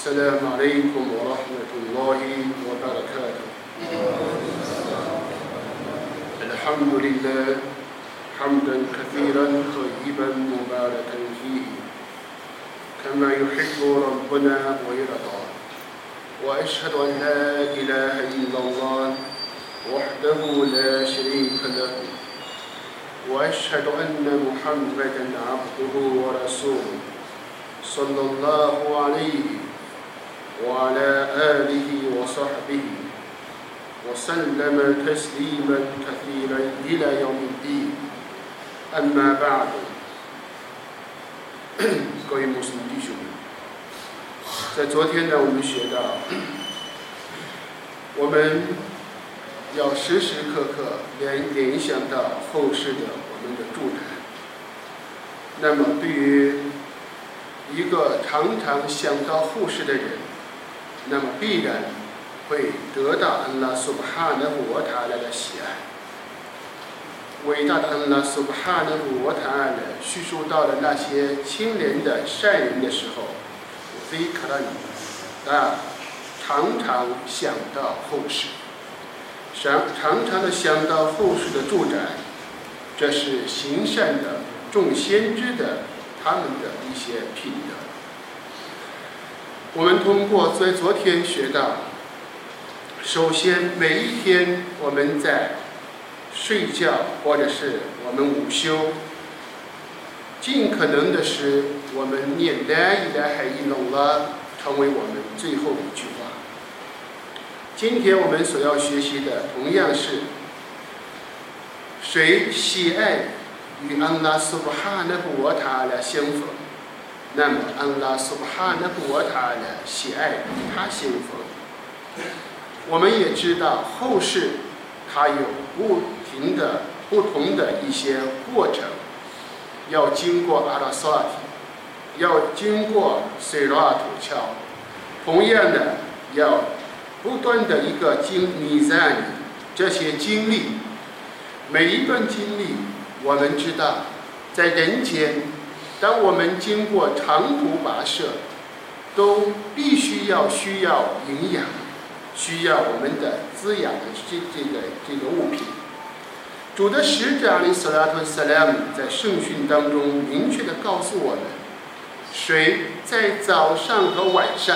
السلام عليكم ورحمة الله وبركاته. الحمد لله حمدا كثيرا طيبا مباركا فيه كما يحب ربنا ويرضى، وأشهد أن لا إله إلا الله وحده لا شريك له، وأشهد أن محمدا عبده ورسوله صلى الله عليه وعلى آله وصحبه وسلم تسليما كثيرا إلى يوم الدين. أما بعد， 各位穆斯林弟兄们，在昨天呢，我们学到，我们要时时刻刻联想到后世的我们的助产。那么，对于一个常常想到后世的人，那么必然会得到安拉苏巴哈纳胡瓦塔拉的喜爱。伟大的安拉苏巴哈纳胡瓦塔拉叙述到了那些清廉的善人的时候，非克拉尼常常想到后世，常常的想到后世的助展，这是行善的众先知的他们的一些品德。我们通过在昨天学到，首先每一天我们在睡觉或者是我们午休，尽可能的使我们念la ilaha illallah成为我们最后一句话。今天我们所要学习的同样是，谁喜爱与安拉苏巴哈纳胡瓦塔拉相逢，那么安拉苏巴哈纳胡瓦塔拉喜爱与他相逢。我们也知道后世它有不同的一些过程，要经过阿拉萨提，要经过塞拉土桥，同样的要不断的一个弥赞这些经历，每一段经历我们知道，在人间，当我们经过长途跋涉，都必需要营养，需要我们的滋养的这个物品。主的使者阿里斯拉图萨拉姆在圣训当中明确的告诉我们，谁在早上和晚上，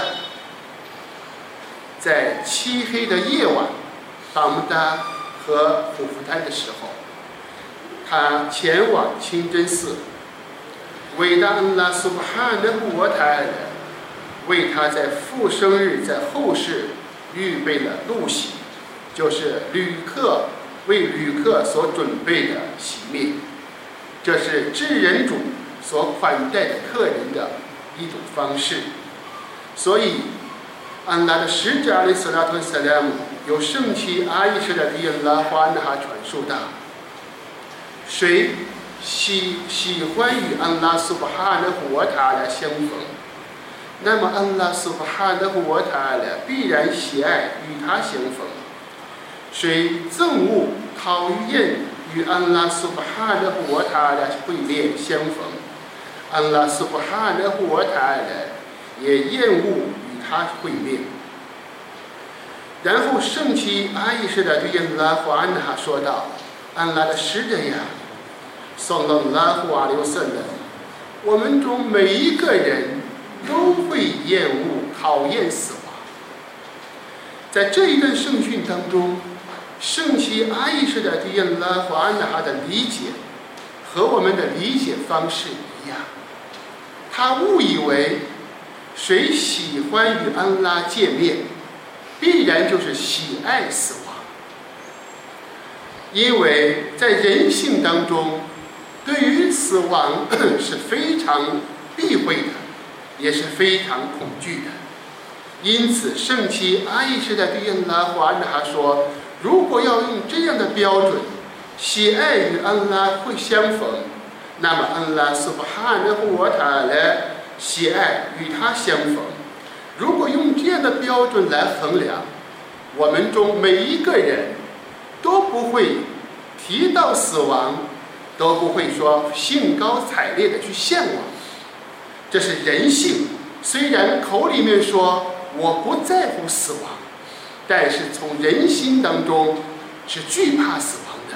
在漆黑的夜晚，巴木达和胡夫丹的时候，他前往清真寺，伟大安拉苏巴哈纳胡瓦塔拉为他在复生日在后世预备了路喜，就是为旅客所准备的喜面，这是至人主所款待的客人的一种方式。所以安拉的使者阿里斯拉图萨拉姆有圣妻阿伊什的迪恩拉花纳哈传述道，谁喜欢与安拉苏巴哈纳胡瓦塔拉相逢，那么安拉苏巴哈纳胡瓦塔拉必然喜爱与他相逢。谁憎恶讨厌与安拉苏巴哈纳胡瓦塔拉会面相逢，安拉苏巴哈纳胡瓦塔拉也厌恶与他会面。然后圣妻阿伊什的对安拉华安哈说道，安拉的使者呀，саллаллаху алейхи ва саллям，我们中每一个人都会厌恶讨厌死亡。在这一段圣训当中，圣妻阿伊什的对安拉华安哈的理解和我们的理解方式一样，他误以为谁喜欢与安拉见面，必然就是喜爱死亡。因为在人性当中，对于死亡是非常避讳的，也是非常恐惧的。因此圣妻阿伊什的对安拉华安哈说，如果要用这样的标准喜爱与安拉会相逢，那么安拉苏巴哈纳胡瓦塔拉喜爱与他相逢。如果用这样的标准来衡量，我们中每一个人都不会提到死亡，都不会说兴高采烈的去向往，这是人性虽然口里面说我不在乎死亡，但是从人心当中是惧怕死亡的。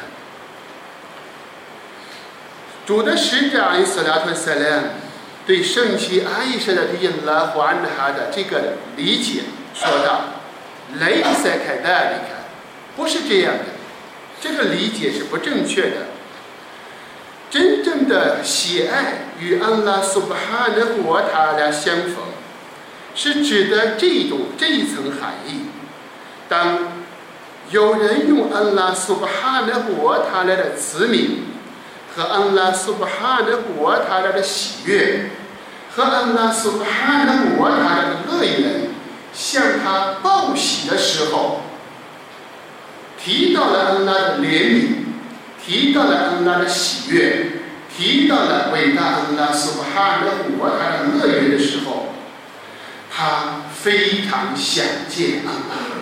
主的使者阿里斯拉特塞勒对圣妻阿伊莎的迪拉胡安哈的这个理解说道：“雷塞凯达里卡，不是这样的，这个理解是不正确的。真正的喜爱与安拉苏巴哈的活塔拉相逢，是指的这一层含义。当有人用安拉苏巴哈的活塔拉的慈悯和安拉苏巴哈的活塔拉的喜悦和安拉苏巴哈的活塔拉的乐园向他报喜的时候，提到了安拉的怜悯，提到了安拉的喜悦，提到了伟大安拉苏巴哈的活塔的乐园的时候，他非常想见安拉。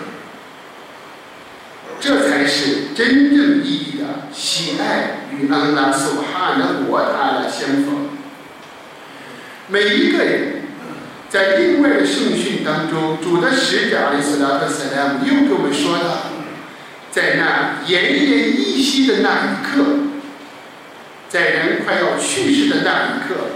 这才是真正意义的喜爱与安拉苏巴哈的活塔的相逢。每一个人在另外的圣训当中，主的使者阿里斯拉特塞拉姆又给我们说到，在那奄奄一息的那一刻，在人快要去世的那一刻，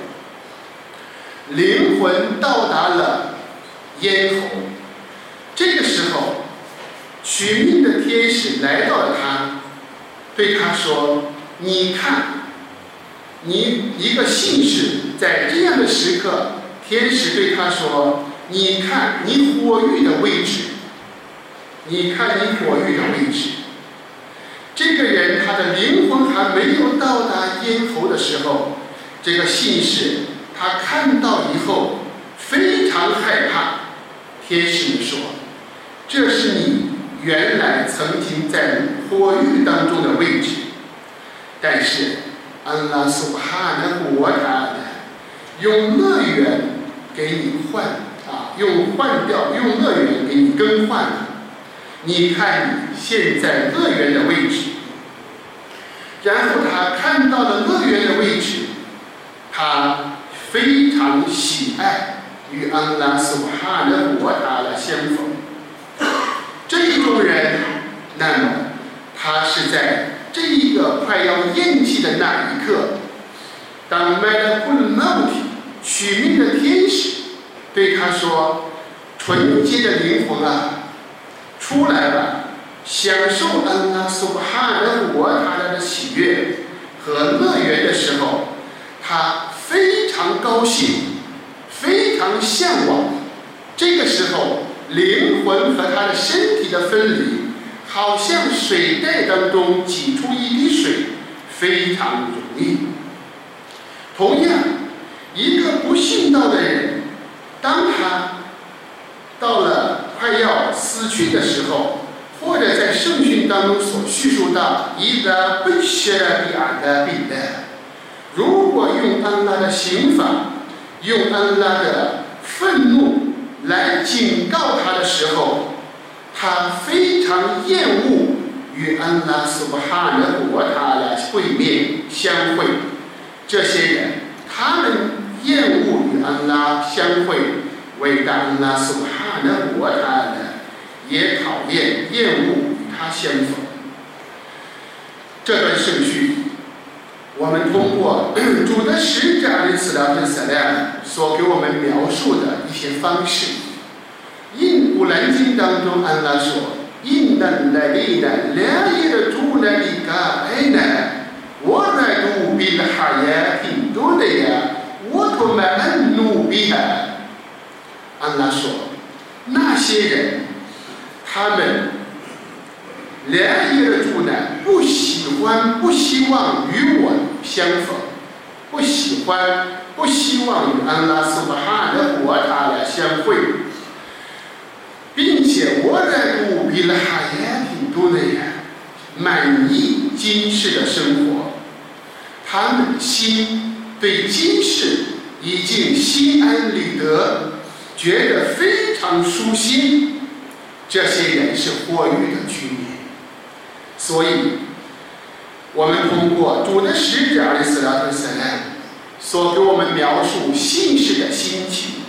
灵魂到达了咽喉。这个时候，取命的天使来到了他，对他说：“你看，你一个信士，在这样的时刻，天使对他说：你看你火狱的位置，你看你火狱的位置。”这个人他的灵魂还没有到达咽喉的时候，这个信士他看到以后非常害怕。天使们说：“这是你原来曾经在火狱当中的位置。”但是安拉苏巴哈的国塔用乐园给你用乐园给你更换了。你看你现在乐园的位置。然后他看到了乐园的位置，他非常喜爱与安拉苏巴哈的国塔的相逢。这种人，那么他是在这一个快要咽气的那一刻，当麦勒库尔莫提取命的天使对他说：“纯洁的灵魂啊，出来吧，享受安拉苏巴哈的国塔的喜悦和乐园的时候，他非常高兴，非常向往。这个时候，灵魂和他的身体的分离，好像水袋当中挤出一滴水，非常容易。同样，一个不信道的人，当他到了快要死去的时候，或者在圣训当中所叙述到伊达贝谢比阿达比的，如果用安拉的刑罚，用安拉的愤怒来警告他的时候，他非常厌恶与安拉苏巴哈的国塔来会面相会。这些人，他们厌恶与安拉相会，伟大安拉苏巴哈的国塔呢，也讨厌厌恶与他相逢。这段圣训，我们通过主的使者阿里斯拉特塞拉所给我们描述的一些方式。古兰经当中，安拉说：“因那来的来的主来的个爱呢，我来读比了哈呀挺多的呀，我他妈安努比哈。”安拉说，那些人，他们来的主呢，不希望与我相逢，不希望与安拉苏巴哈的国塔来相会。并且我来读比了哈耶挺多的人满意今世的生活，他们的心对今世已经心安理得，觉得非常舒心。这些人是火狱的居民。所以我们通过主的使者阿里斯拉特塞拉所给我们描述信士的心情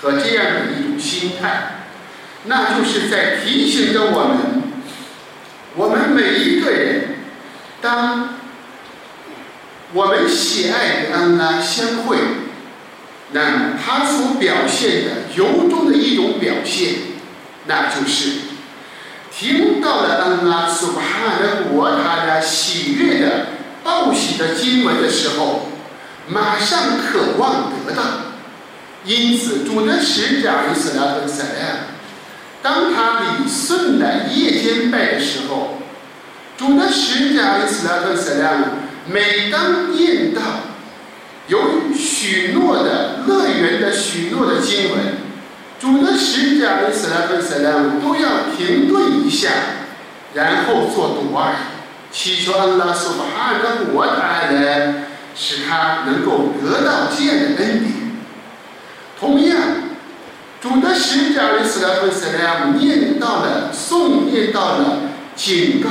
和这样的一种心态，那就是在提醒着我们每一个人，当我们喜爱与安拉相会，那么他所表现的由衷的一种表现，那就是听到了安拉苏巴哈的国他的喜悦的报喜的经文的时候，马上渴望得到。因此主的使者阿里斯拉和塞拉，当他礼顺的夜间拜的时候，主的使者阿里斯拉和塞拉每当念到有许诺的乐园的许诺的经文，主的使者阿里斯拉和塞拉都要停顿一下，然后做读尔，祈求安拉苏巴哈的国他来使他能够得到这样的恩典。同样，主的使者阿里斯拉和塞拉念到了警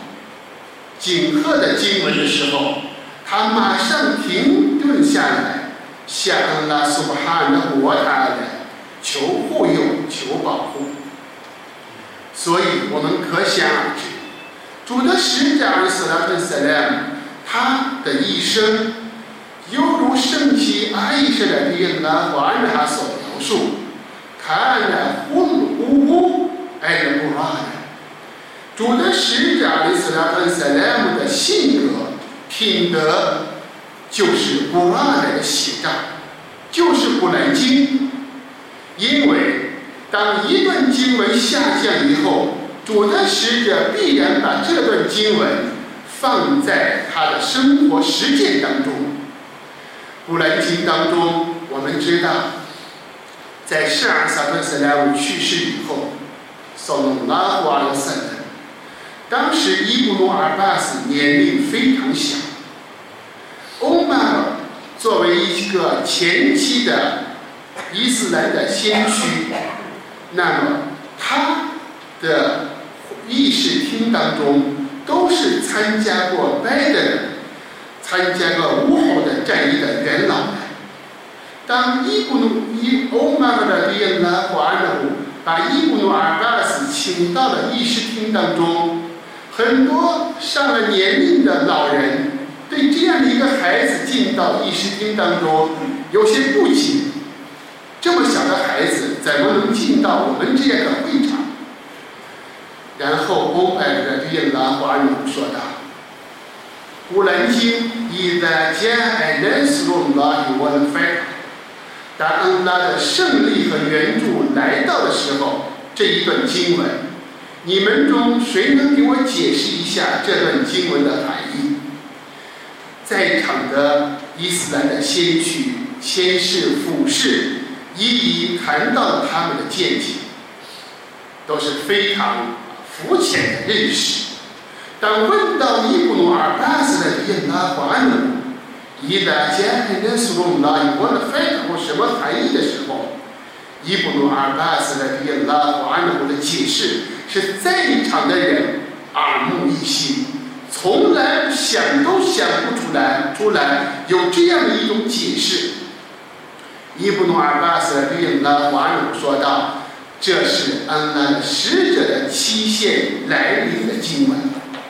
贺的经文的时候，他马上停顿下来，向安拉苏巴哈的国他来求护佑、求保护。所以我们可想而知，主的使者阿里斯拉和塞拉他的一生犹如圣妻阿依莎的利拉和安拉所描述，看了呼爱的古拉的主的使者阿里斯拉和塞拉的性格品德，就是古拉的写照，就是古兰经。因为当一段经文下降以后，主的使者必然把这段经文放在他的生活实践当中。古兰经当中，我们知道，在圣阿萨特斯莱姆去世以后，صلى الله عليه وسلم，当时伊布努尔巴斯年龄非常小，欧马尔作为一个前期的伊斯兰的先驱，那么他的议事厅当中都是参加过拜登、参加过乌侯的战役的元老们。当欧马尔的利恩拉华安努把伊布努尔巴斯请到了议事厅当中，很多上了年龄的老人对这样的一个孩子进到议事厅当中有些不解，这么小的孩子怎么能进到我们这样的会场？然后欧麦的利恩拉华安努说道：“古兰经إذا جاء نصر الله والفتح，当安拉的胜利和援助来到的时候，这一段经文，你们中谁能给我解释一下这段经文的含义？”在场的伊斯兰的先驱、先士、辅士一一谈到了他们的见解，都是非常肤浅的认识。当问到伊布努尔巴斯的利拉华安努伊达加海纳苏隆拉我的翻译什么含义的时候，伊布努尔巴斯的利拉华安努的解释是在场的人耳目一新，从来想都想不出来有这样的一种解释。伊布努尔巴斯的利拉华安努说道：“这是安拉的使者的期限来临的经文。”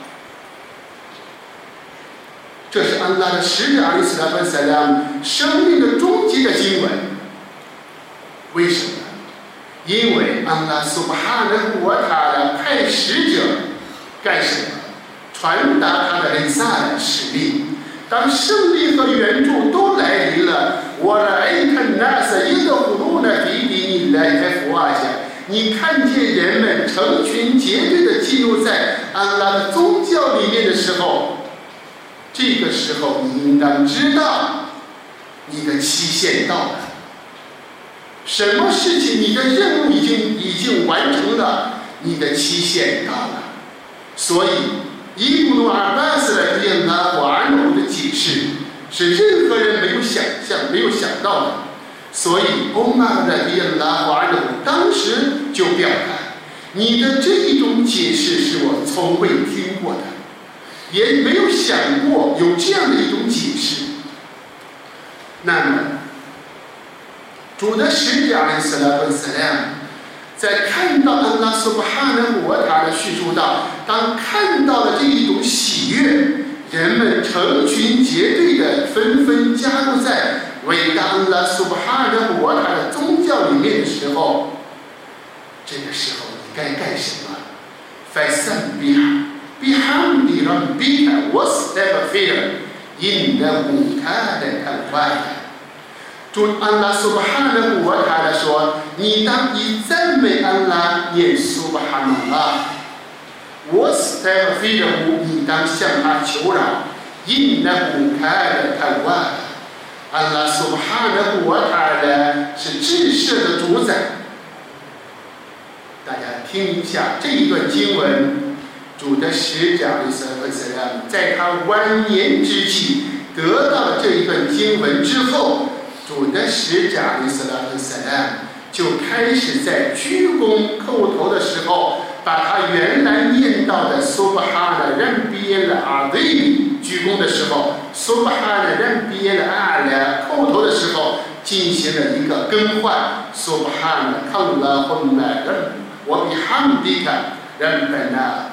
这是安拉的使者阿里斯拉和塞拉生命的终极的经文。为什么？因为安拉苏巴哈的国他的派使者干什么？传达他的萨的使命。当胜利和援助都来临了，我的爱看那是一个葫芦的比你来开福啊下，你看见人们成群结队的进入在安拉的宗教里面的时候，这个时候你应当知道你的期限到了，什么事情你的任务已经完成了，你的期限到了。所以伊布努尔巴斯的利拉华安努的解释是任何人没有想到的。所以欧玛的利拉华安努当时就表达，你的这一种解释是我从未听过的，也没有想过有这样的一种解释。那么主的使者阿里斯拉本斯拉在看到安拉苏巴哈纳胡瓦塔的叙述到，当看到了这一种喜悦，人们成群结队的纷纷加入在伟大安拉苏巴哈纳胡瓦塔的宗教里面的时候，这个时候你该干什么？فسبح بحمد ربك واستغفره إنه كان توابا。主安拉苏巴哈纳胡瓦塔说：“你当以赞美安拉，念苏巴哈纳拉。واستغفره，你当向他求饶。إنه كان توابا。安拉苏巴哈纳胡瓦塔是至赦的主宰。”大家听一下这一段经文，主的使者阿里斯拉在他晚年之际得到了这一段经文之后，主的使者阿里斯拉就开始在鞠躬叩头的时候，把他原来念到的苏巴哈纳任比耶的阿对鞠躬的时候，苏巴哈纳任比耶的阿拉叩头的时候，进行了一个更换。苏巴哈纳康拉混来人。我比汉迪卡人本呢，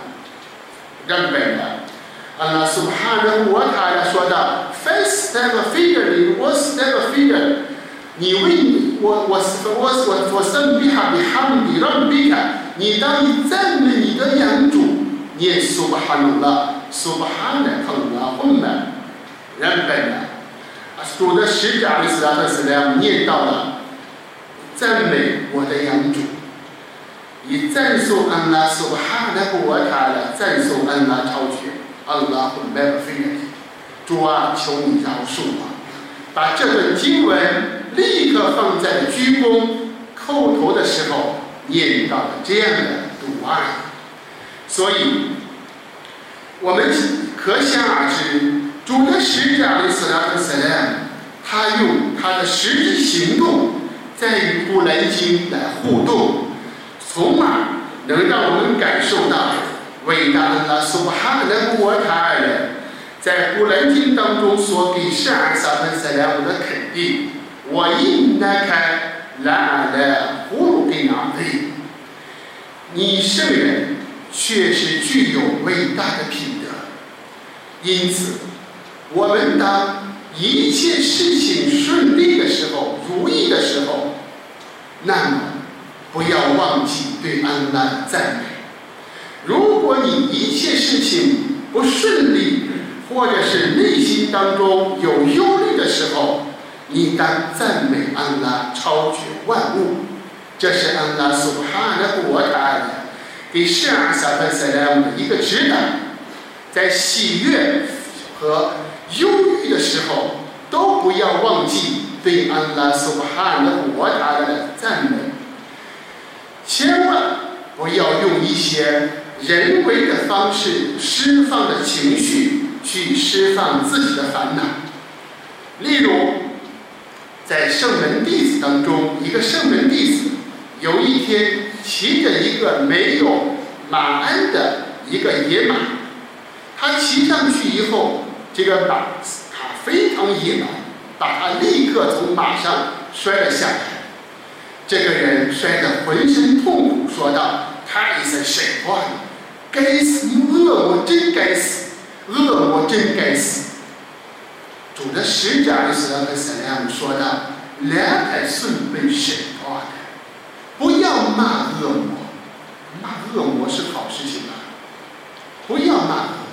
安拉苏巴哈纳胡瓦塔说道 ：“Fastaghfir wastaghfir， 你为我圣比哈比汉迪人比卡，你当以赞美你的养主，念苏巴哈纳拉，苏巴哈纳康拉混来人本呢。”主的使者阿里斯拉特斯拉念到了赞美我的养主。以赞颂安拉苏巴哈纳胡瓦塔的赞颂安拉超绝，安拉会麦尔菲人，主啊，求你饶恕我。把这段经文立刻放在鞠躬叩头的时候念到了这样的读案，所以我们可想而知，主的使者阿里斯拉特斯拉他用他的实际行动在与古兰经来互动。从而能让我们感受到伟大安拉苏巴哈纳胡瓦塔在古兰经当中所给圣安萨芬塞莱姆的肯定。我因那开拉来胡鲁给拿对，你圣人确实具有伟大的品德。因此，我们当一切事情顺利的时候、如意的时候，那么不要忘记对安拉的赞美。如果你一切事情不顺利，或者是内心当中有忧虑的时候，你当赞美安拉超绝万物。这是安拉苏哈纳胡瓦塔给圣阿萨芬塞莱姆的一个指导，在喜悦和忧郁的时候，都不要忘记对安拉苏哈纳胡瓦塔的赞美。千万不要用一些人为的方式释放的情绪去释放自己的烦恼。例如，在圣门弟子当中，一个圣门弟子有一天骑着一个没有马鞍的一个野马，他骑上去以后，这个马他非常野蛮，把他立刻从马上摔了下来。这个人摔得浑身痛苦，说道：“太神神话了，该死！恶魔真该死，恶魔真该死。”主的使者阿里斯拉克萨拉姆说道：“两台顺被神话的，不要骂恶魔，骂恶魔是好事情啊，不要骂恶魔。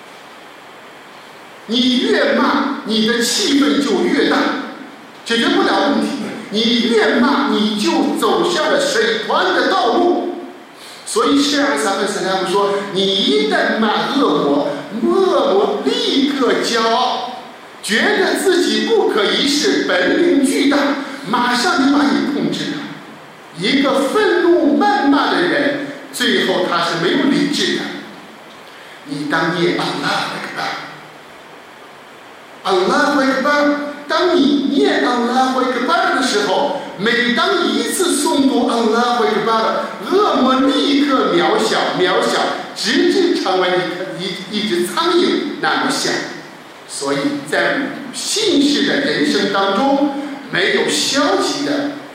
你越骂，你的气氛就越大，解决不了问题。你越骂，你就走向了水团的道路。所以圣安萨芬斯拉姆说，你一旦骂恶魔，恶魔立刻骄傲，觉得自己不可一世，本领巨大，马上就把你控制了。一个愤怒谩骂的人，最后他是没有理智的。你当念阿拉哈克巴，阿拉哈克巴。当你念阿拉哈克巴的时候，每当一次诵读阿拉哈克巴，恶魔立刻渺小，直至成为一只苍蝇那么小。所以在信士的人生当中，没有消极的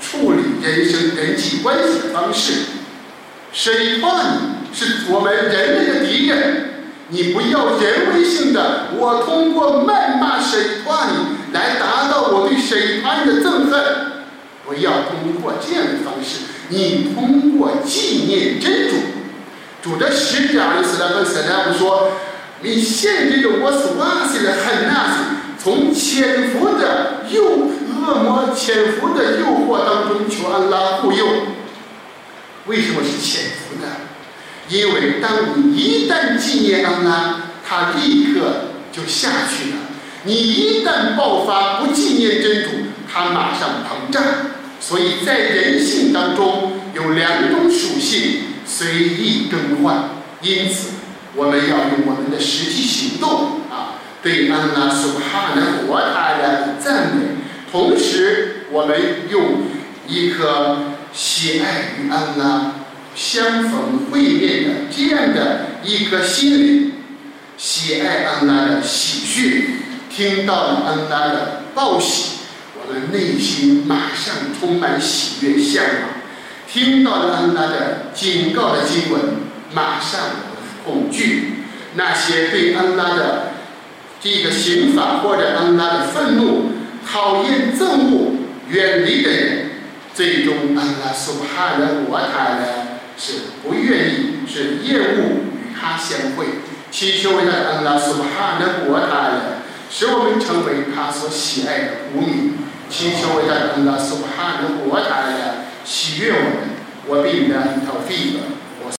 处理人生人际关系的方式。谁怕你是我们人类的敌人，你不要人为性的，我通过谩骂谁怕你来达到我对谁怕你的憎恨。不要通过这样的方式，你通过纪念真主。主的使者阿里斯拉和塞拉姆说，你限制着我所瓦西的很纳斯从潜伏的恶魔潜伏的诱惑当中求安拉护佑。为什么是潜伏的？因为当你一旦纪念安拉，他立刻就下去了。你一旦爆发不纪念真主，他马上膨胀。所以在人性当中有两种属性随意更换，因此我们要用我们的实际行动对安拉苏哈纳胡瓦塔的赞美，同时我们用一颗喜爱与安拉相逢会面的这样的一颗心灵，喜爱安拉的喜讯，听到了安拉的报喜，我们内心马上充满喜悦向往；听到了安拉的警告的经文，马上恐惧。那些对安拉的这个刑法或者安拉的愤怒、讨厌、憎恶、远离的人，最终安拉苏哈纳胡瓦塔拉是不愿意，是厌恶与他相会。祈求伟大的安拉苏哈纳胡瓦塔拉使我们成为他所喜爱的国民。祈求伟大的安拉苏哈纳胡瓦塔拉喜悦我们。我必然头发。